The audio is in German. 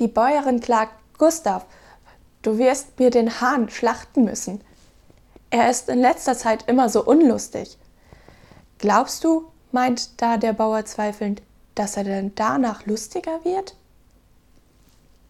Die Bäuerin klagt: »Gustav, du wirst mir den Hahn schlachten müssen. Er ist in letzter Zeit immer so unlustig.« »Glaubst du«, meint da der Bauer zweifelnd, »dass er denn danach lustiger wird?«